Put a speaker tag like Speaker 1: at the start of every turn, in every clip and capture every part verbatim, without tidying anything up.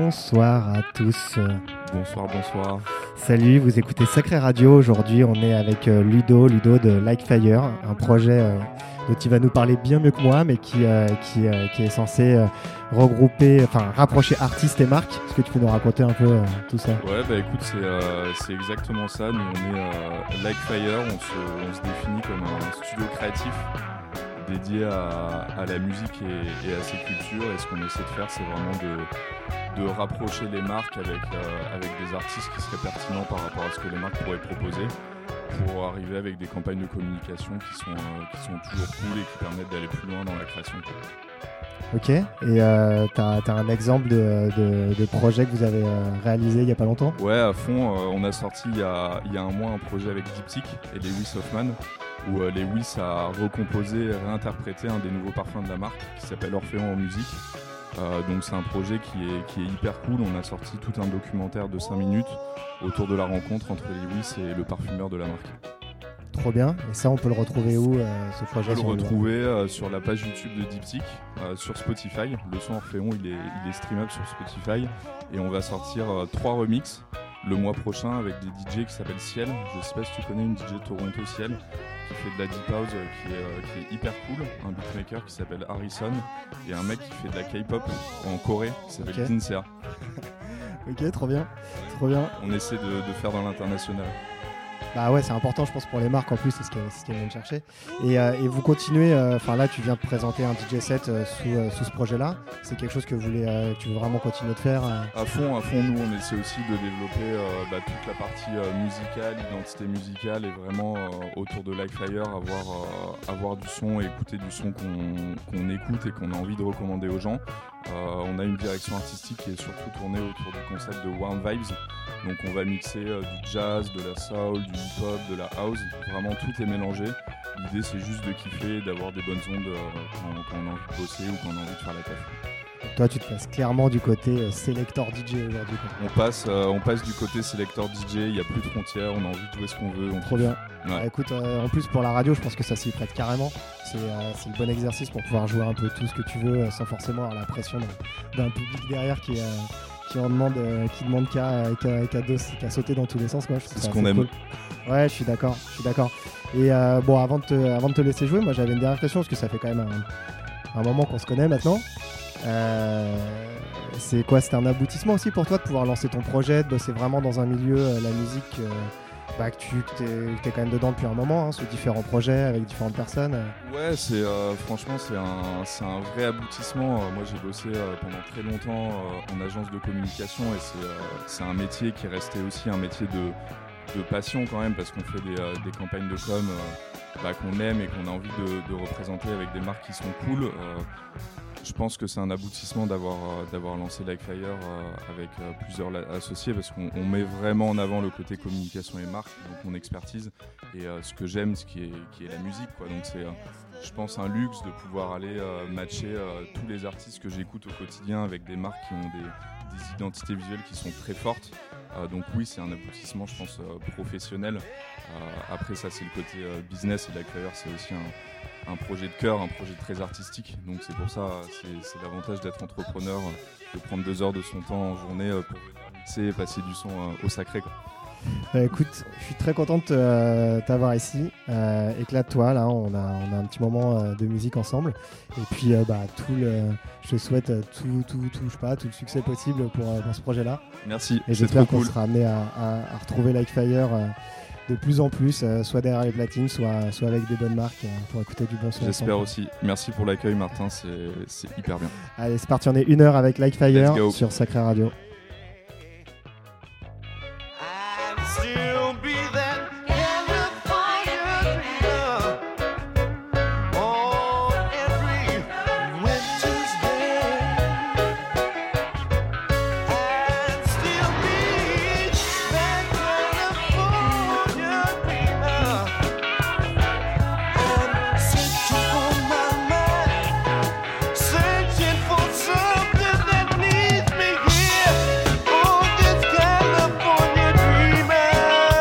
Speaker 1: Bonsoir à tous.
Speaker 2: Bonsoir, bonsoir.
Speaker 1: Salut, vous écoutez Sacré Radio. Aujourd'hui, on est avec euh, Ludo, Ludo de Likefire, un projet euh, dont il va nous parler bien mieux que moi, mais qui, euh, qui, euh, qui est censé euh, regrouper, enfin rapprocher artistes et marques. Est-ce que tu peux nous raconter un peu euh, tout ça ?
Speaker 2: Ouais, bah écoute, c'est, euh, c'est exactement ça. Nous, on est euh, Likefire, on se, on se définit comme un studio créatif dédié à, à la musique et, et à ses cultures. Et ce qu'on essaie de faire, c'est vraiment de, de rapprocher les marques avec, euh, avec des artistes qui seraient pertinents par rapport à ce que les marques pourraient proposer, pour arriver avec des campagnes de communication qui sont, euh, qui sont toujours cool et qui permettent d'aller plus loin dans la création.
Speaker 1: Ok, et euh, t'as, t'as un exemple de, de, de projet que vous avez euh, réalisé il n'y a pas longtemps ?
Speaker 2: Ouais, à fond. Euh, on a sorti il y a, il y a un mois un projet avec Diptyque et Lewis Hoffman, où euh, Lewis a recomposé et réinterprété un des nouveaux parfums de la marque qui s'appelle Orphéon en musique. Euh, donc c'est un projet qui est, qui est hyper cool. On a sorti tout un documentaire de cinq minutes autour de la rencontre entre Lewis et le parfumeur de la marque.
Speaker 1: Trop bien. Et ça, on peut le retrouver où, euh, ce projet ?
Speaker 2: On peut le retrouver euh, sur la page YouTube de Diptyque, euh, sur Spotify. Le son Orphéon, il est, il est streamable sur Spotify. Et on va sortir euh, trois remixes le mois prochain avec des D J qui s'appellent Ciel. Je ne sais pas si tu connais une D J de Toronto, Ciel, qui fait de la deep house, euh, qui, est, euh, qui est hyper cool. Un beatmaker qui s'appelle Harrison. Et un mec qui fait de la K-pop en Corée qui s'appelle
Speaker 1: Okay.
Speaker 2: Kinsea.
Speaker 1: Ok, trop bien. Trop bien.
Speaker 2: On essaie de, de faire dans l'international.
Speaker 1: Bah ouais, c'est important, je pense, pour les marques en plus, c'est ce qu'elles, c'est ce qu'elles viennent chercher. Et, euh, et vous continuez, enfin euh, là, tu viens de présenter un D J set euh, sous, euh, sous ce projet-là. C'est quelque chose que vous voulez, euh, tu veux vraiment continuer de faire euh...
Speaker 2: À fond, à fond, nous, on essaie aussi de développer euh, bah, toute la partie euh, musicale, identité musicale, et vraiment euh, autour de Likefire, avoir, euh, avoir du son et écouter du son qu'on, qu'on écoute et qu'on a envie de recommander aux gens. Euh, on a une direction artistique qui est surtout tournée autour du concept de Warm Vibes. Donc on va mixer euh, du jazz, de la soul, du hip-hop, de la house. Vraiment tout est mélangé. L'idée c'est juste de kiffer, d'avoir des bonnes ondes euh, quand, quand on a envie de bosser ou quand on a envie de faire la taf.
Speaker 1: Toi tu te passes clairement du côté euh, selector D J aujourd'hui.
Speaker 2: On passe, euh, on passe du côté selector D J, il n'y a plus de frontières, on a envie de jouer ce qu'on veut. On
Speaker 1: Trop bien.
Speaker 2: Ouais.
Speaker 1: Bah, écoute, euh, en plus pour la radio, je pense que ça s'y prête carrément. C'est, euh, c'est le bon exercice pour pouvoir jouer un peu tout ce que tu veux euh, sans forcément avoir la pression d'un, d'un public derrière qui, euh, qui en demande, euh, qui demande qu'à, qu'à, qu'à, dos, qu'à sauter dans tous les sens. Quoi. Je trouve
Speaker 2: C'est
Speaker 1: ça
Speaker 2: ce qu'on aime.
Speaker 1: Cool. Ouais, je suis d'accord. Je suis d'accord. Et euh, bon, avant de, te, avant de te laisser jouer, moi j'avais une dernière question parce que ça fait quand même un, un moment qu'on se connaît maintenant. Euh, c'est quoi, c'était un aboutissement aussi pour toi de pouvoir lancer ton projet, de bosser vraiment dans un milieu, euh, la musique, euh, bah, que tu que t'es, que t'es quand même dedans depuis un moment, hein, sur différents projets avec différentes personnes.
Speaker 2: Ouais, c'est, euh, franchement, c'est un, c'est un vrai aboutissement. Euh, moi, j'ai bossé euh, pendant très longtemps euh, en agence de communication et c'est, euh, c'est un métier qui est resté aussi un métier de, de passion quand même, parce qu'on fait des, euh, des campagnes de com euh, bah, qu'on aime et qu'on a envie de, de représenter avec des marques qui sont cool. Euh, Je pense que c'est un aboutissement d'avoir, euh, d'avoir lancé Likefire euh, avec euh, plusieurs la- associés, parce qu'on on met vraiment en avant le côté communication et marque, donc mon expertise et euh, ce que j'aime, ce qui est, qui est la musique, quoi. Donc c'est, euh, je pense, un luxe de pouvoir aller euh, matcher euh, tous les artistes que j'écoute au quotidien avec des marques qui ont des, des identités visuelles qui sont très fortes. Euh, donc oui, c'est un aboutissement, je pense, euh, professionnel. Euh, après ça, c'est le côté euh, business, et Likefire, c'est aussi un un projet de cœur, un projet très artistique, donc c'est pour ça, c'est, c'est l'avantage d'être entrepreneur, de prendre deux heures de son temps en journée pour venir mixer et passer du son au sacré, quoi.
Speaker 1: Bah, écoute, je suis très content de euh, t'avoir ici, euh, éclate-toi, là on a, on a un petit moment euh, de musique ensemble, et puis euh, bah, tout le, je te souhaite euh, tout, tout, tout, je sais pas, tout le succès possible pour, euh, pour ce projet-là.
Speaker 2: Merci,
Speaker 1: et
Speaker 2: c'est
Speaker 1: j'espère
Speaker 2: trop
Speaker 1: qu'on
Speaker 2: cool.
Speaker 1: sera amené à, à, à retrouver Likefire euh, de plus en plus, euh, soit derrière les platines, soit, soit avec des bonnes marques euh, pour écouter du bon son.
Speaker 2: J'espère
Speaker 1: ensemble.
Speaker 2: aussi. Merci pour l'accueil, Martin, c'est, c'est hyper bien.
Speaker 1: Allez, c'est parti, on est une heure avec Likefire sur Sacré Radio.
Speaker 3: Something that needs me here. Oh, this California dreamer.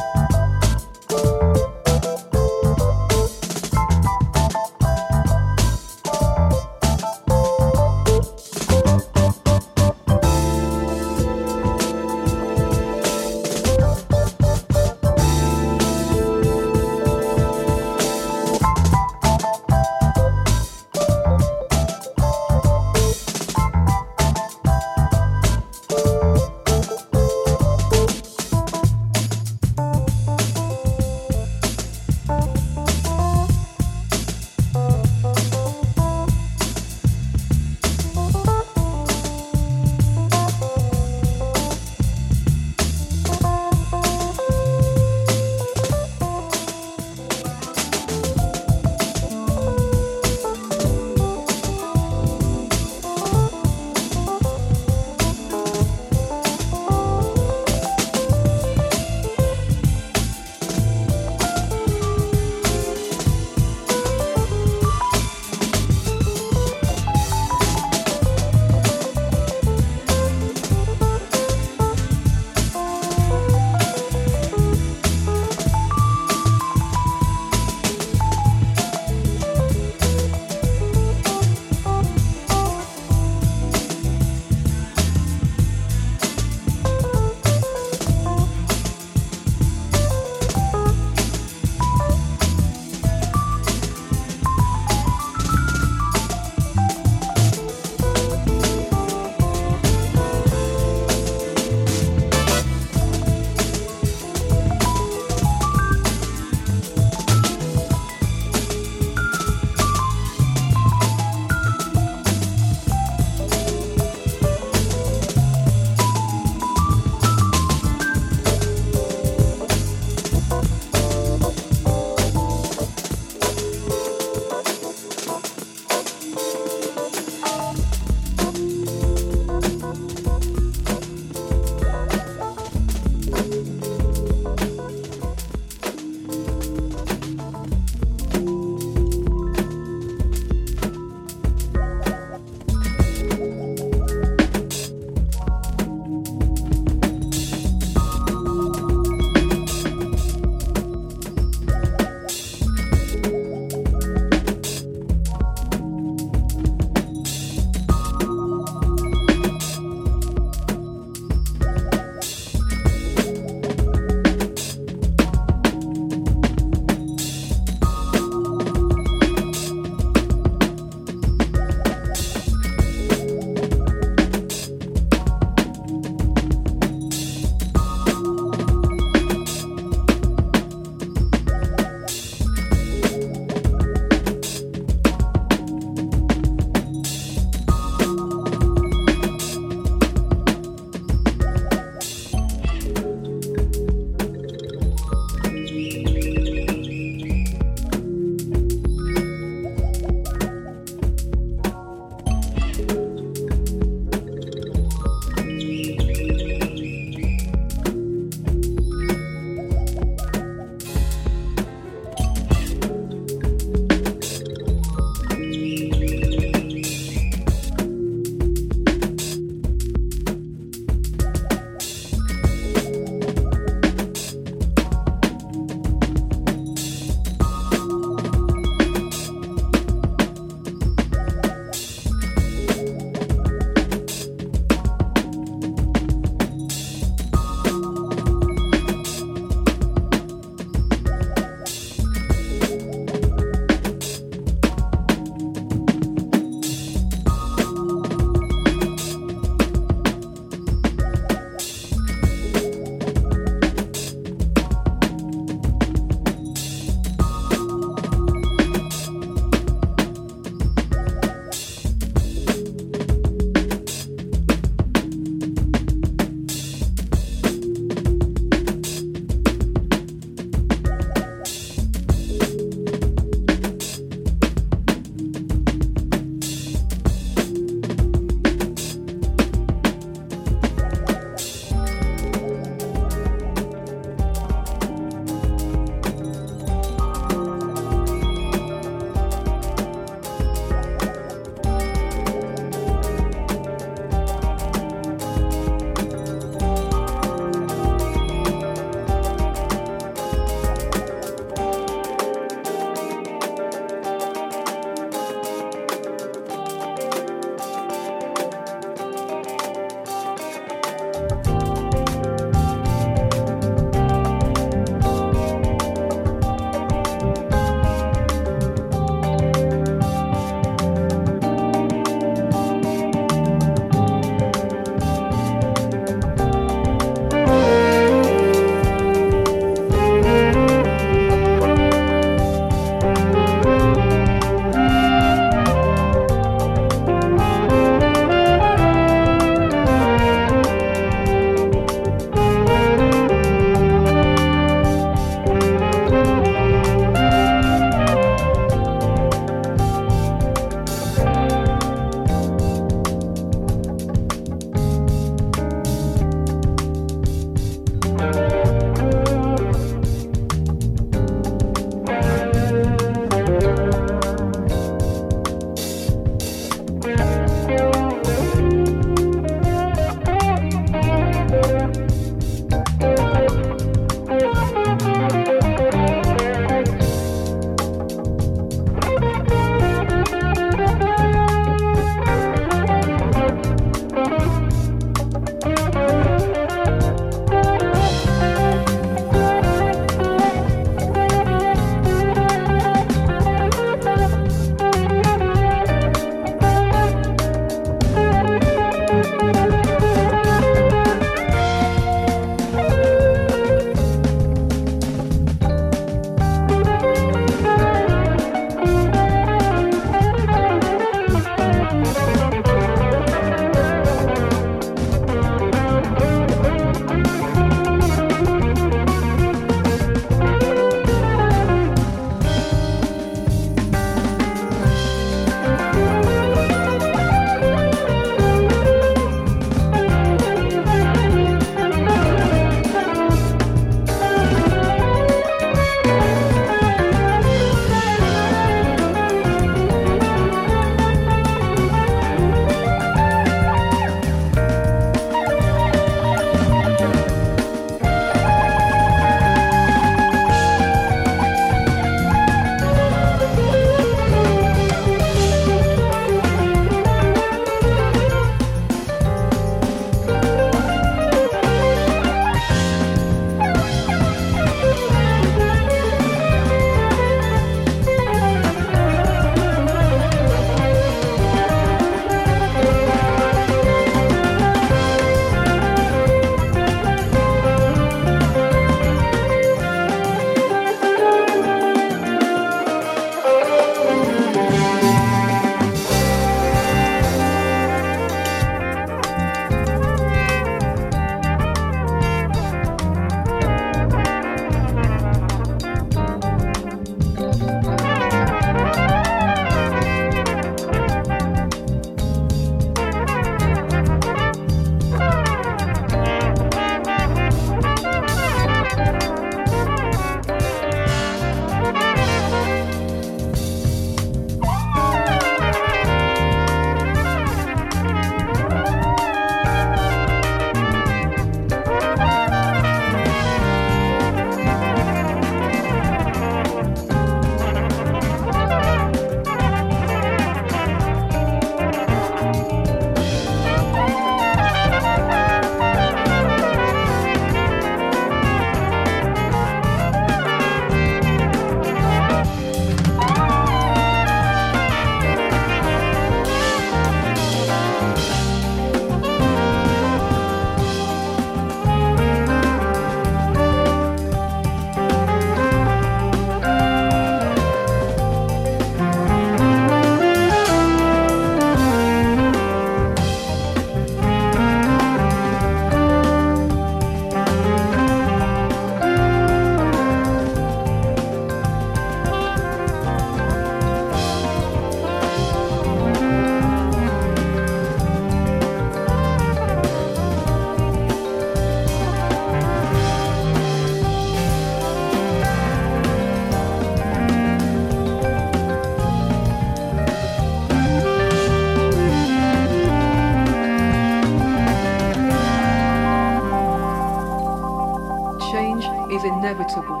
Speaker 3: inevitable.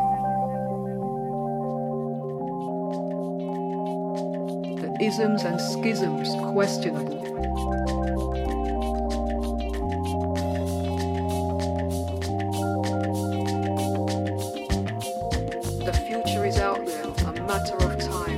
Speaker 3: The isms and schisms questionable. The future is out there, a matter of time.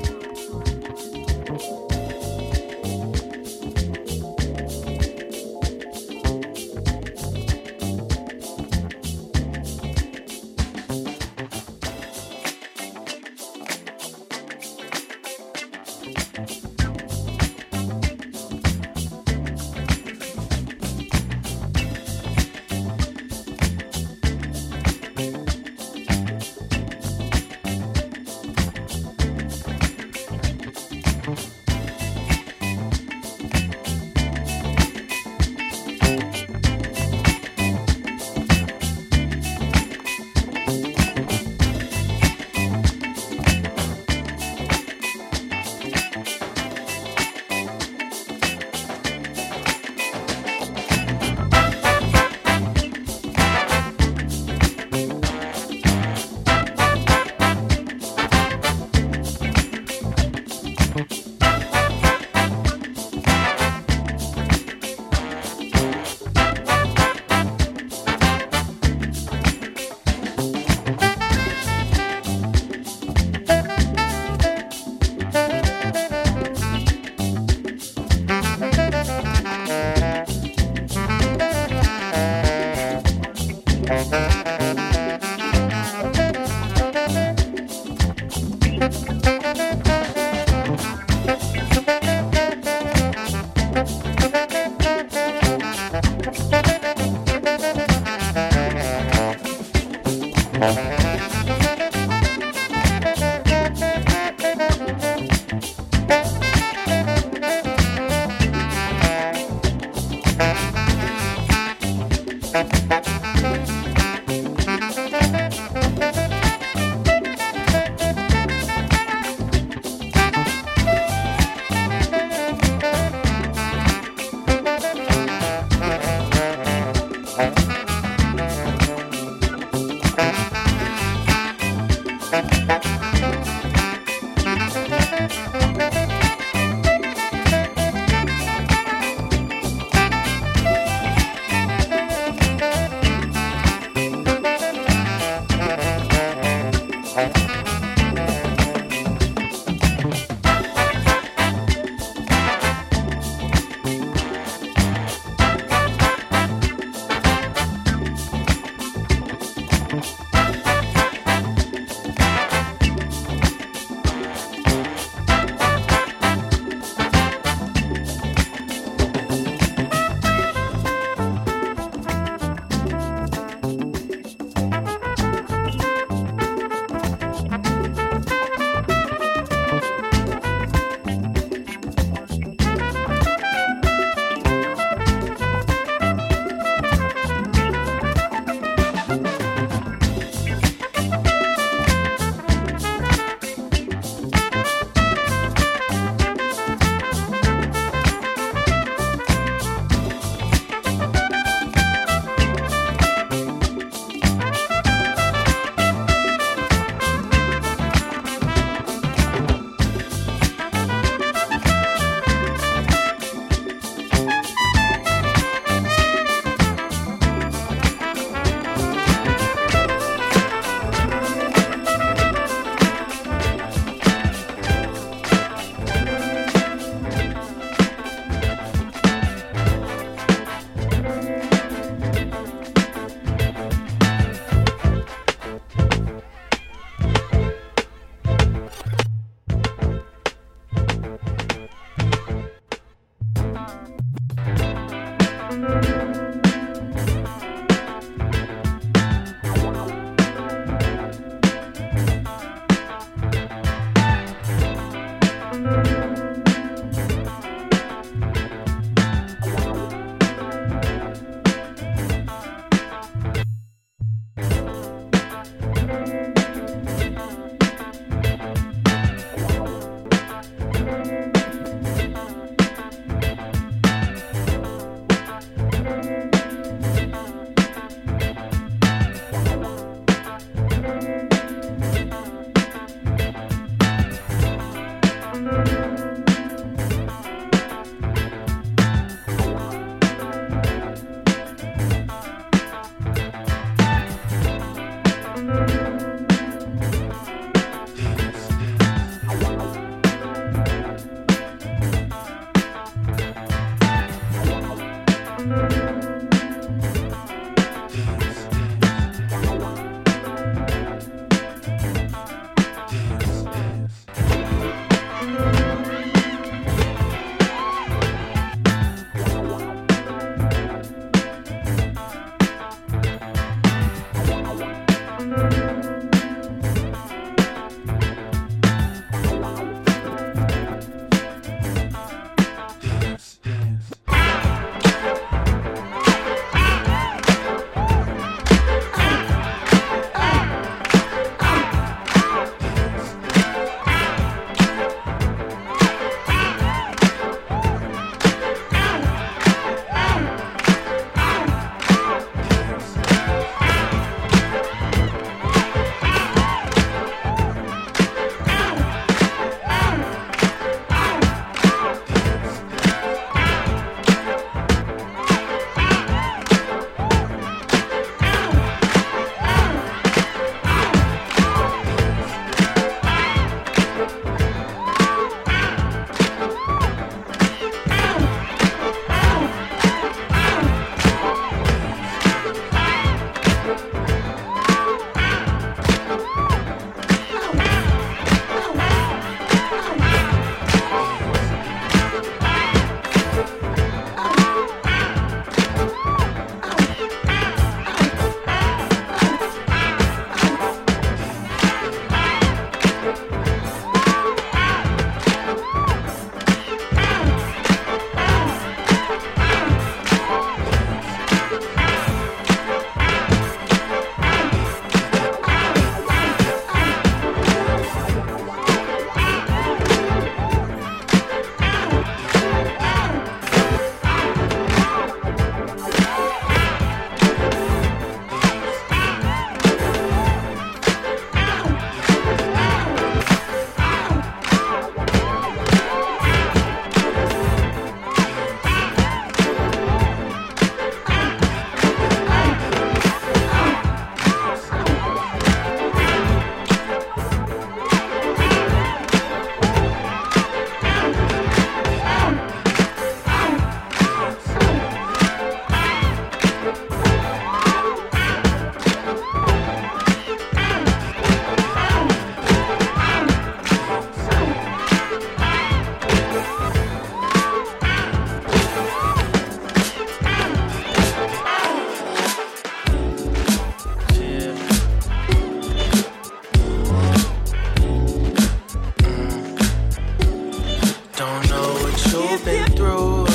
Speaker 4: you've been through.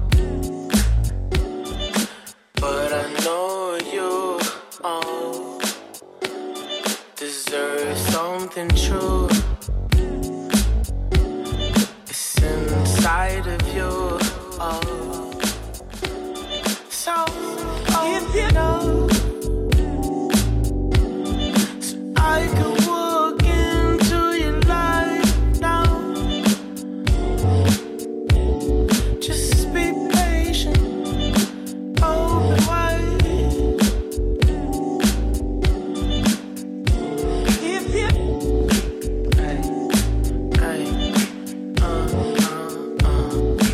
Speaker 4: But I know you oh, deserve something true. It's inside of you. Oh. So, oh, if you know, so I could walk into your life now. Just be patient, open wide. If you, hey, hey, uh, uh, uh.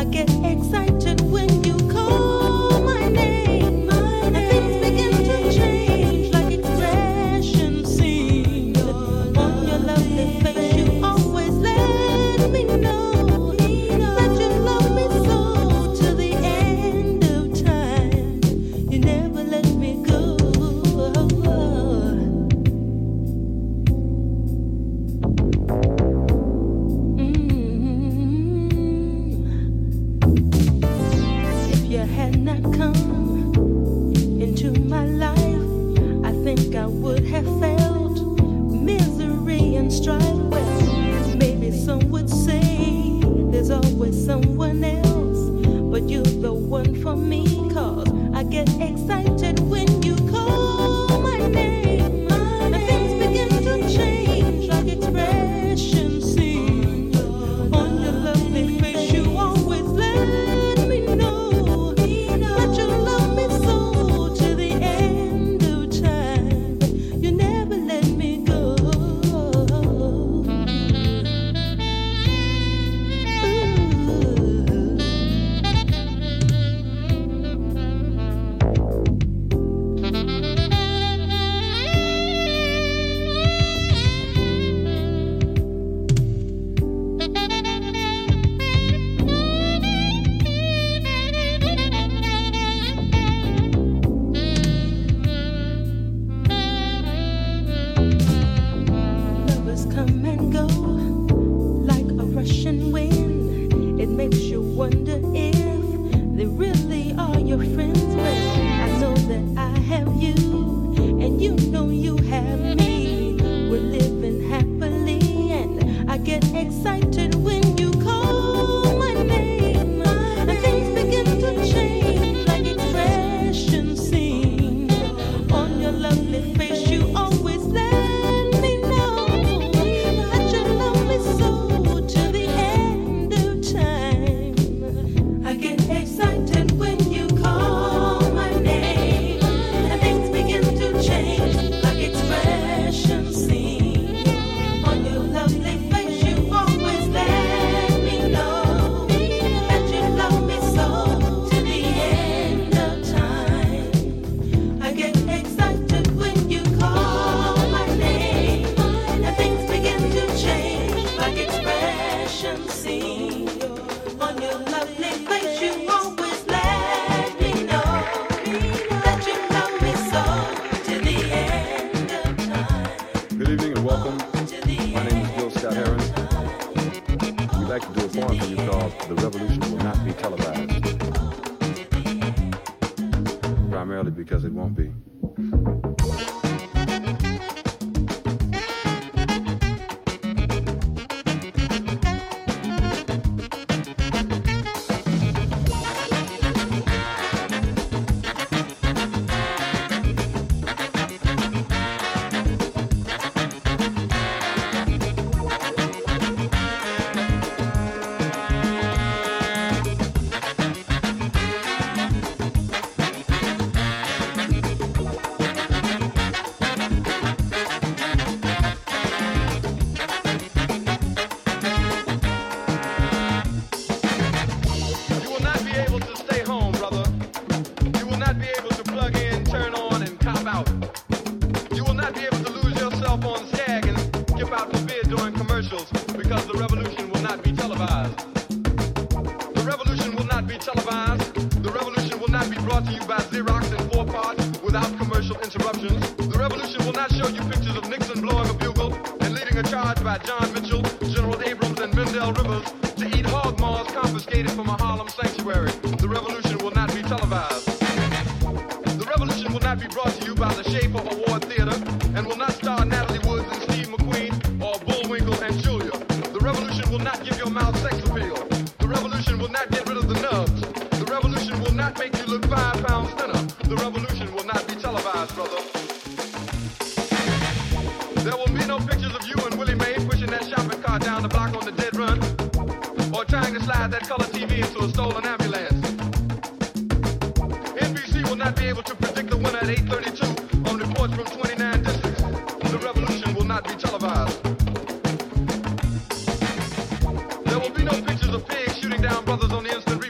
Speaker 5: I get excited when you call my name. And things begin to change like expressions seen. On your lovely face you always let me know that you love me so till the end of time. You never let me go. If you had not come into my life, I think I would have felt misery and strife. Well, maybe some would say there's always someone else, but you're the one for me, 'cause I get excited when you call my name. And things begin to change like expressions seen. On your lovely face you always let me know that you love me so till the end of time. You never let me go. Lovers come and go like a rushing wind. It makes you wonder if they really are your friends. Well, I know that I have you, and you know you have me. We're living happily, and I get excited when you call my name. And things begin to change like expressions seen. On your lovely face you always let me know that you love me so till the end of time. I get excited when you call my name. And things begin to change like expressions seen. On your lovely face you always let me know that you love me so till the end of time. I get excited when you call my name. And things begin to change like expressions seen. On your lovely face you always let me know that you love me so till the end of time.
Speaker 6: Good evening and welcome.
Speaker 5: Till the
Speaker 6: My name is Bill Scott Heron. We'd like to do a poem for you called The Revolution Will Not Be Televised. Primarily because it won't be.
Speaker 7: You will not be able to stay home, brother. You will not be able to plug in, turn on, and cop out. You will not be able to lose yourself on Skag and skip out for bid during commercials because the revolution will not be televised. The revolution will not be televised. The revolution will not be brought to you by Xerox in four parts without commercial interruptions. The revolution will not show you pictures of Nixon blowing a bugle and leading a charge by John Mitchell, General Abrams, and Mendel Rivers to eat hog maws confiscated from a Harlem sanctuary. The revolution will not be televised. The revolution will not be brought to you by the Schaefer Award Theater and will not star Natalie Woods and Steve McQueen or Bullwinkle and Julia. The revolution will not give your mouth sex appeal. The revolution will not get rid of the nubs. The revolution will not make you look five pounds thinner. The revolution will not be televised, brother. There will be no pictures of you and Willie Mae pushing that shopping cart down the block on the dead run or trying to slide that color T V into a stolen ambulance. N B C will not be able to predict the winner at eight thirty-two on reports from twenty-nine districts. The revolution will not be televised. There will be no pictures of pigs shooting down brothers on the instant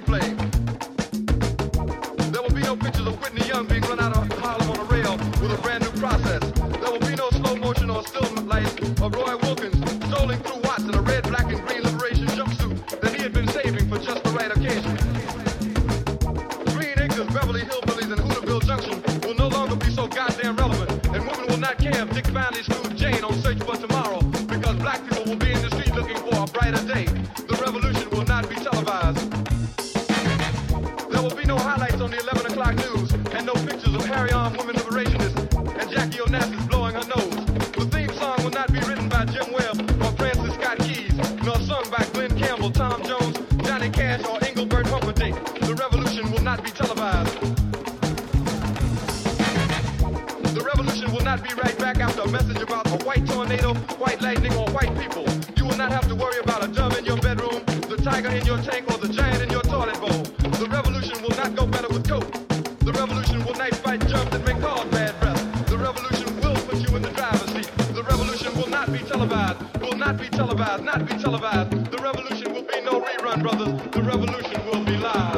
Speaker 7: Beverly Hillbillies and Hooterville Junction will no longer be so goddamn relevant. And women will not care if Dick finally screwed Jane on Search for Tomorrow, because black people will be in the street looking for a brighter day. The revolution will not be televised. There will be no highlights on the eleven o'clock news, and no pictures of Harry-armed women liberationists and Jackie Onassis blowing her nose. The theme song will not be written by Jim Webb or Francis Scott Keys, nor sung by Glenn Campbell, Tom Jones, Johnny Cash, or Engelbert Humperdinck. The revolution will not be televised. The revolution will not be right back after a message about a white tornado, white lightning, or white people. You will not have to worry about a dove in your bedroom, the tiger in your tank, or the giant in your toilet bowl. The revolution will not go better with coke. The revolution will not fight germs that may cause bad breath. The revolution will put you in the driver's seat. The revolution will not be televised, will not be televised, not be televised. The revolution will be no rerun, brothers. The revolution will be live.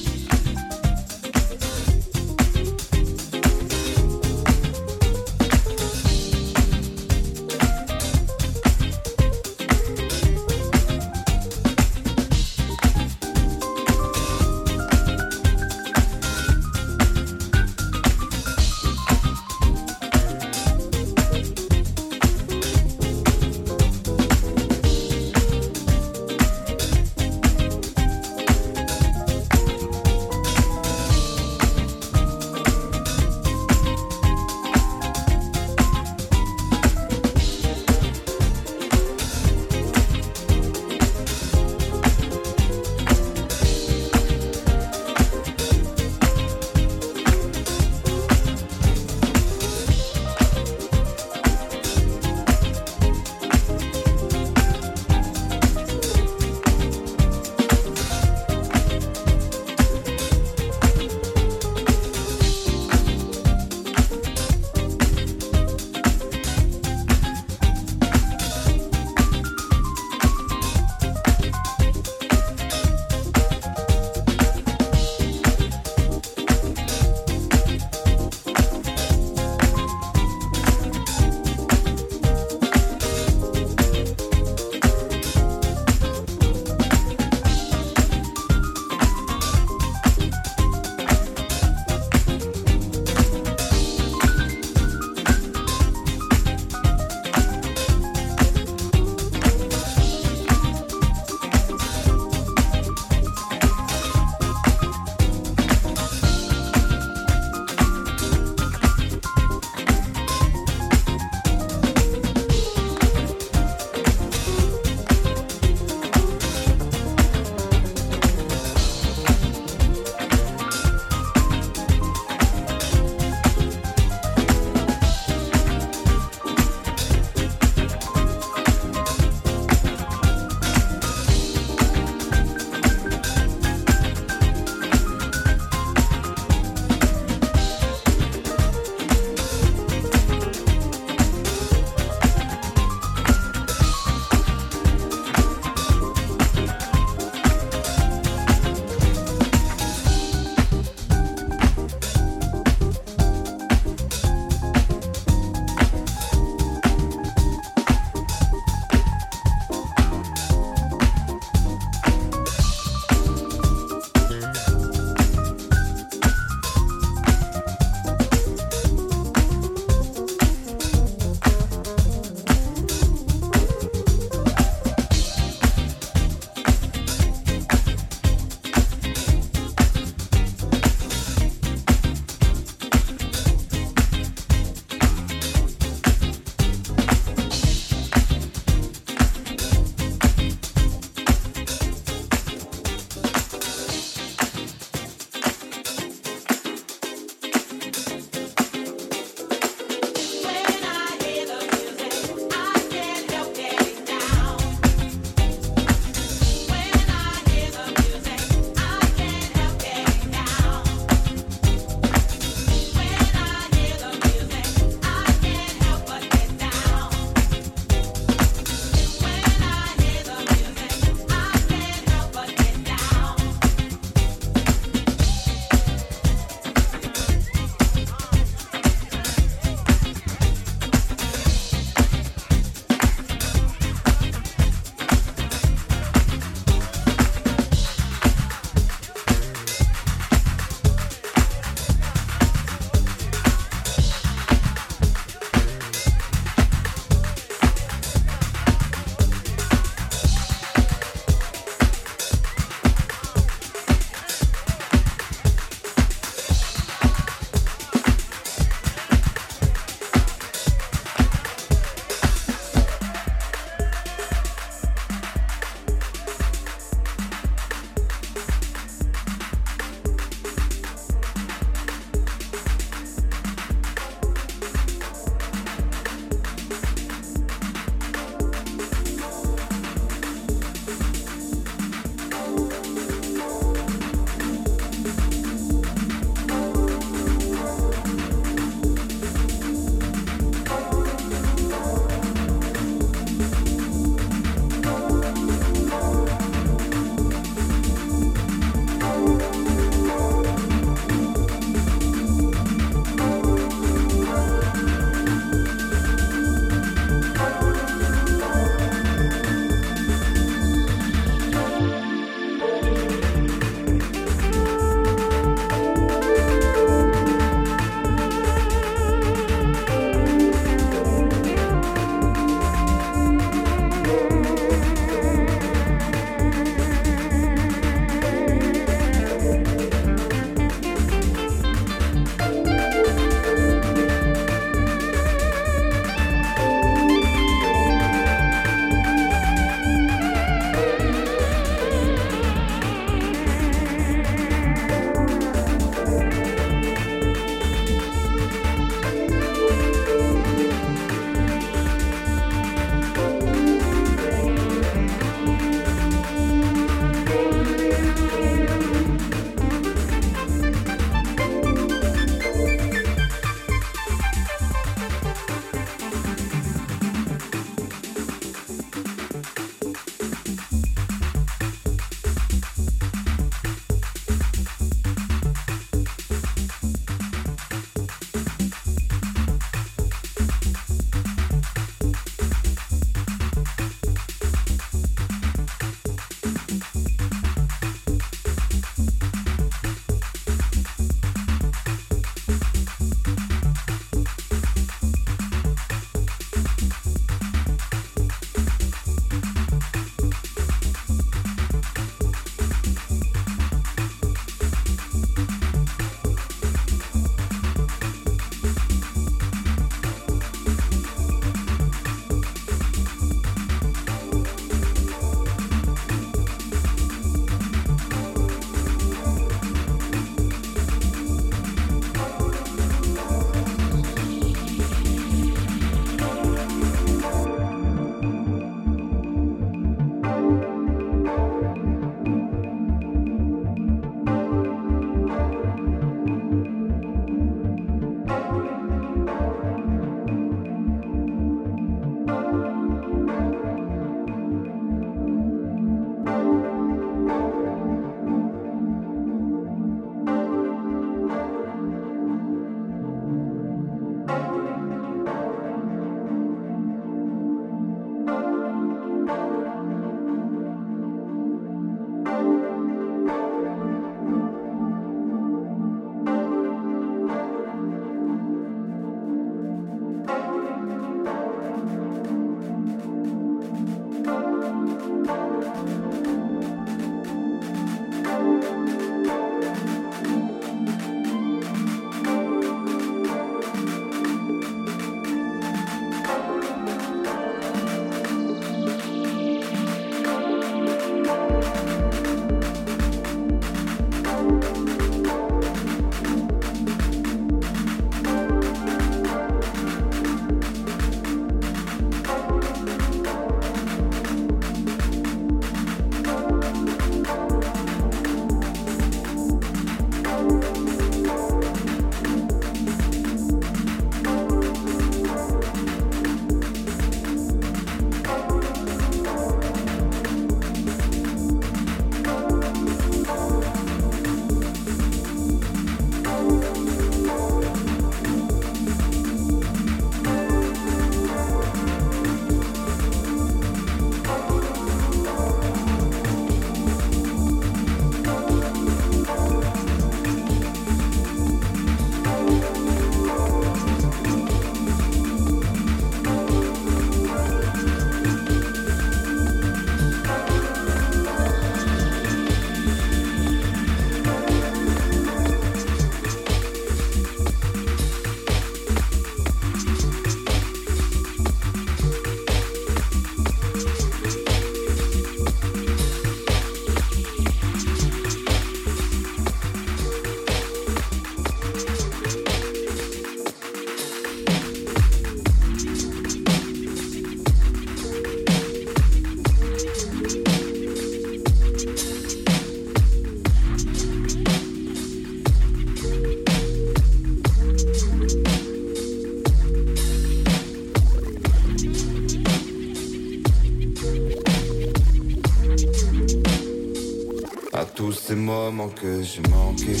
Speaker 8: ces moments que j'ai manqués.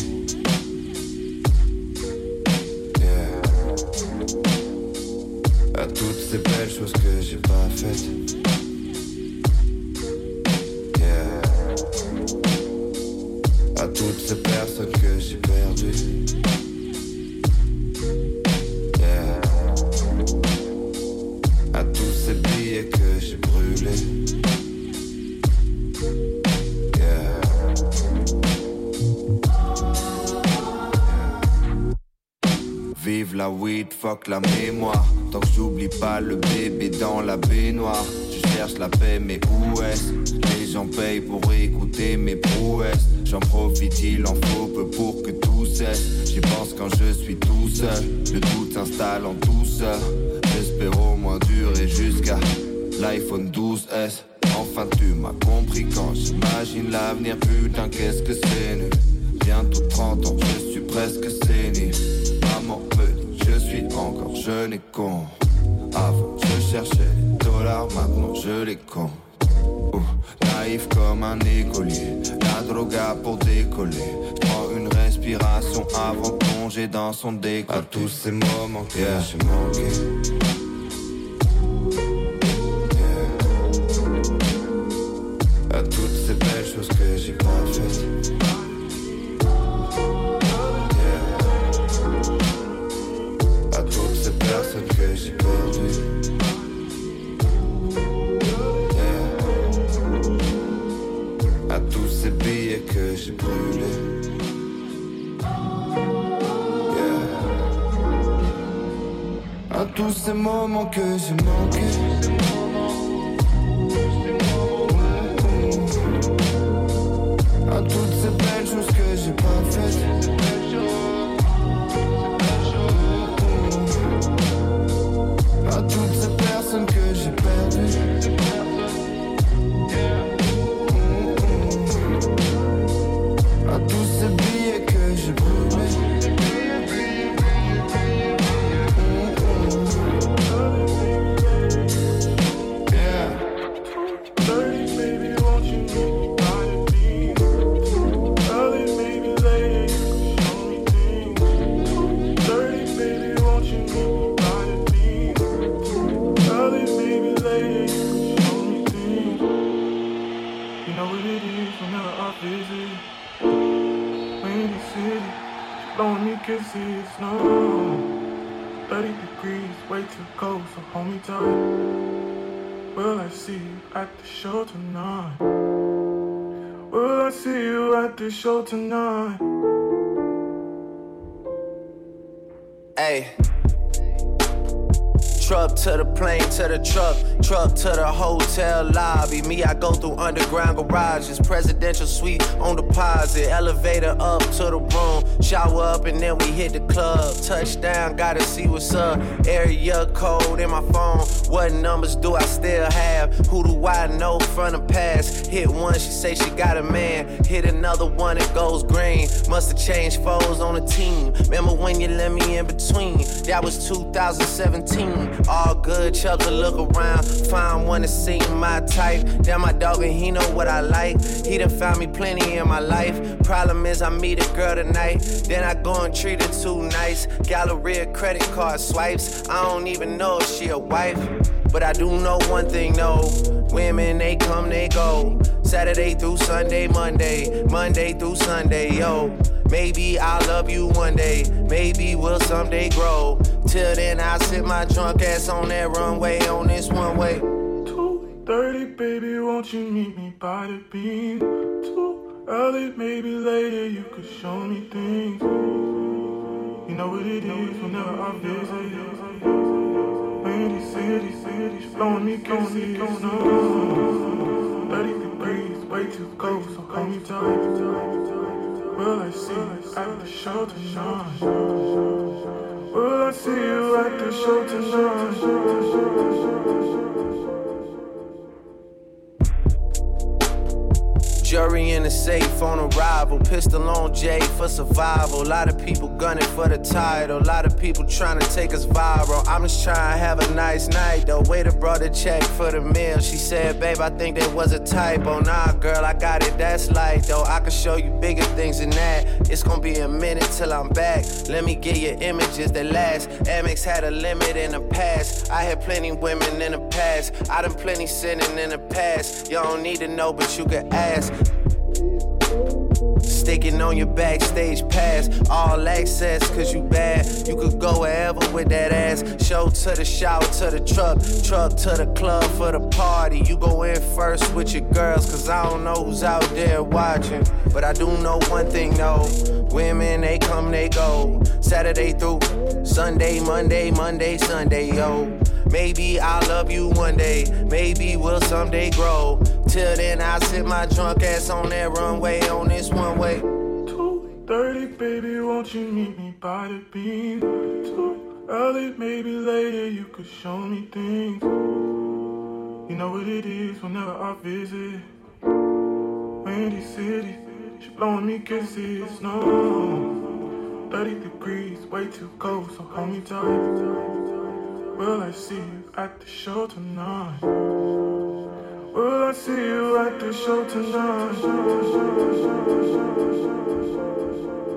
Speaker 8: Yeah. À toutes ces belles choses que j'ai pas faites. Yeah. À toutes ces personnes que j'ai perdues. Yeah. À tous ces billets que j'ai brûlés. Vive la weed, fuck la mémoire. Tant que j'oublie pas le bébé dans la baignoire. Je cherche la paix mais où est-ce? Les gens payent pour écouter mes prouesses. J'en profite, il en faut peu pour que tout cesse. J'y pense quand je suis tout seul. Le doute s'installe en douceur. J'espère au moins durer jusqu'à l'iPhone douze S. Enfin tu m'as compris quand j'imagine l'avenir. Putain qu'est-ce que c'est nul. Bientôt trente ans, je suis presque sénile. Maman me dit je suis encore jeune et con. Avant je cherchais les dollars, maintenant je les compte. Ouh, naïf comme un écolier, la droga pour décoller. J'prends une respiration avant de plonger dans son décolleté. À tous ces moments que yeah. j'ai manqué. Yeah. À toutes ces belles choses que j'ai pas faites. Personne que j'ai perdu. Yeah. À tous ces billets que j'ai brûlés. Yeah. À tous ces moments que j'ai manqués. À toutes ces belles choses que j'ai pas faites. À toutes ces personnes que j'ai perdues. À tous ces billets que j'ai brûlés. Yeah. Dirty baby, won't you meet me by the beach? Early baby, late, show me things. Dirty baby, won't you meet me? Early, baby, late, show me things. You know what it is whenever I visit. Windy city, blowing me kisses, no. thirty degrees, way too cold, so hold me tight. Will I see you at the show tonight? Will I see you at the show tonight?
Speaker 9: Hey. Truck to the plane, to the truck, truck to the hotel lobby. Me, I go through underground garages, presidential suite on deposit, elevator up to the room, shower up and then we hit the club. Touchdown, gotta see what's up. Area code in my phone. What numbers do I still have? Who do I know from the past? Hit one, she say she got a man. Hit another one, it goes green. Must've changed foes on the team. Remember when you let me in between? That was two thousand seventeen. All good, Chubbs to look around. Find one to see my type. Damn, my dog and he know what I like. He done found me plenty in my life. Problem is I meet a girl tonight, then I go and treat her too nice. Galleria credit card swipes. I don't even know if she a wife, but I do know one thing, no. Women, they come, they go. Saturday through Sunday, Monday, Monday through Sunday, yo. Maybe I'll love you one day, maybe we'll someday grow. Till then I'll sit my drunk ass on that runway, on this one way.
Speaker 4: two thirty, baby, won't you meet me by the beam? Too early, maybe later, you could show me things. You know what it is whenever I visit. Windy city, city, blowing me kisses, no. thirty degrees, way too cold, so hold me tight. Will I see you at the show tonight? Will I see you at the show tonight?
Speaker 9: Jury in the safe on arrival. Pistol on Jay for survival. A lot of people gunning for the title. A lot of people trying to take us viral. I'm just trying to have a nice night though. Waiter brought a check for the meal. She said, babe, I think that was a typo. Nah, girl, I got it, that's light though. I can show you bigger things than that. It's gonna be a minute till I'm back. Let me get you images that last. Amex had a limit in the past. I had plenty women in the past. I done plenty sinning in the past. You don't need to know, but you can ask. Sticking on your backstage pass, all access, cause you bad. You could go wherever with that ass. Show to the shower, to the truck, truck to the club for the party. You go in first with your girls, cause I don't know who's out there watching. But I do know one thing though, women, they come, they go. Saturday through Sunday, Monday, Monday, Sunday, yo. Maybe I'll love you one day, maybe we'll someday grow. Till then I'll sit my drunk ass on that runway, on this one way.
Speaker 4: two thirty, baby, won't you meet me by the beam? Too early, maybe later, you could show me things. You know what it is whenever I visit Windy City, she blowing me kisses, no. thirty degrees, way too cold, so hold me tight. Will I see you at the show tonight? Will I see you at the show tonight?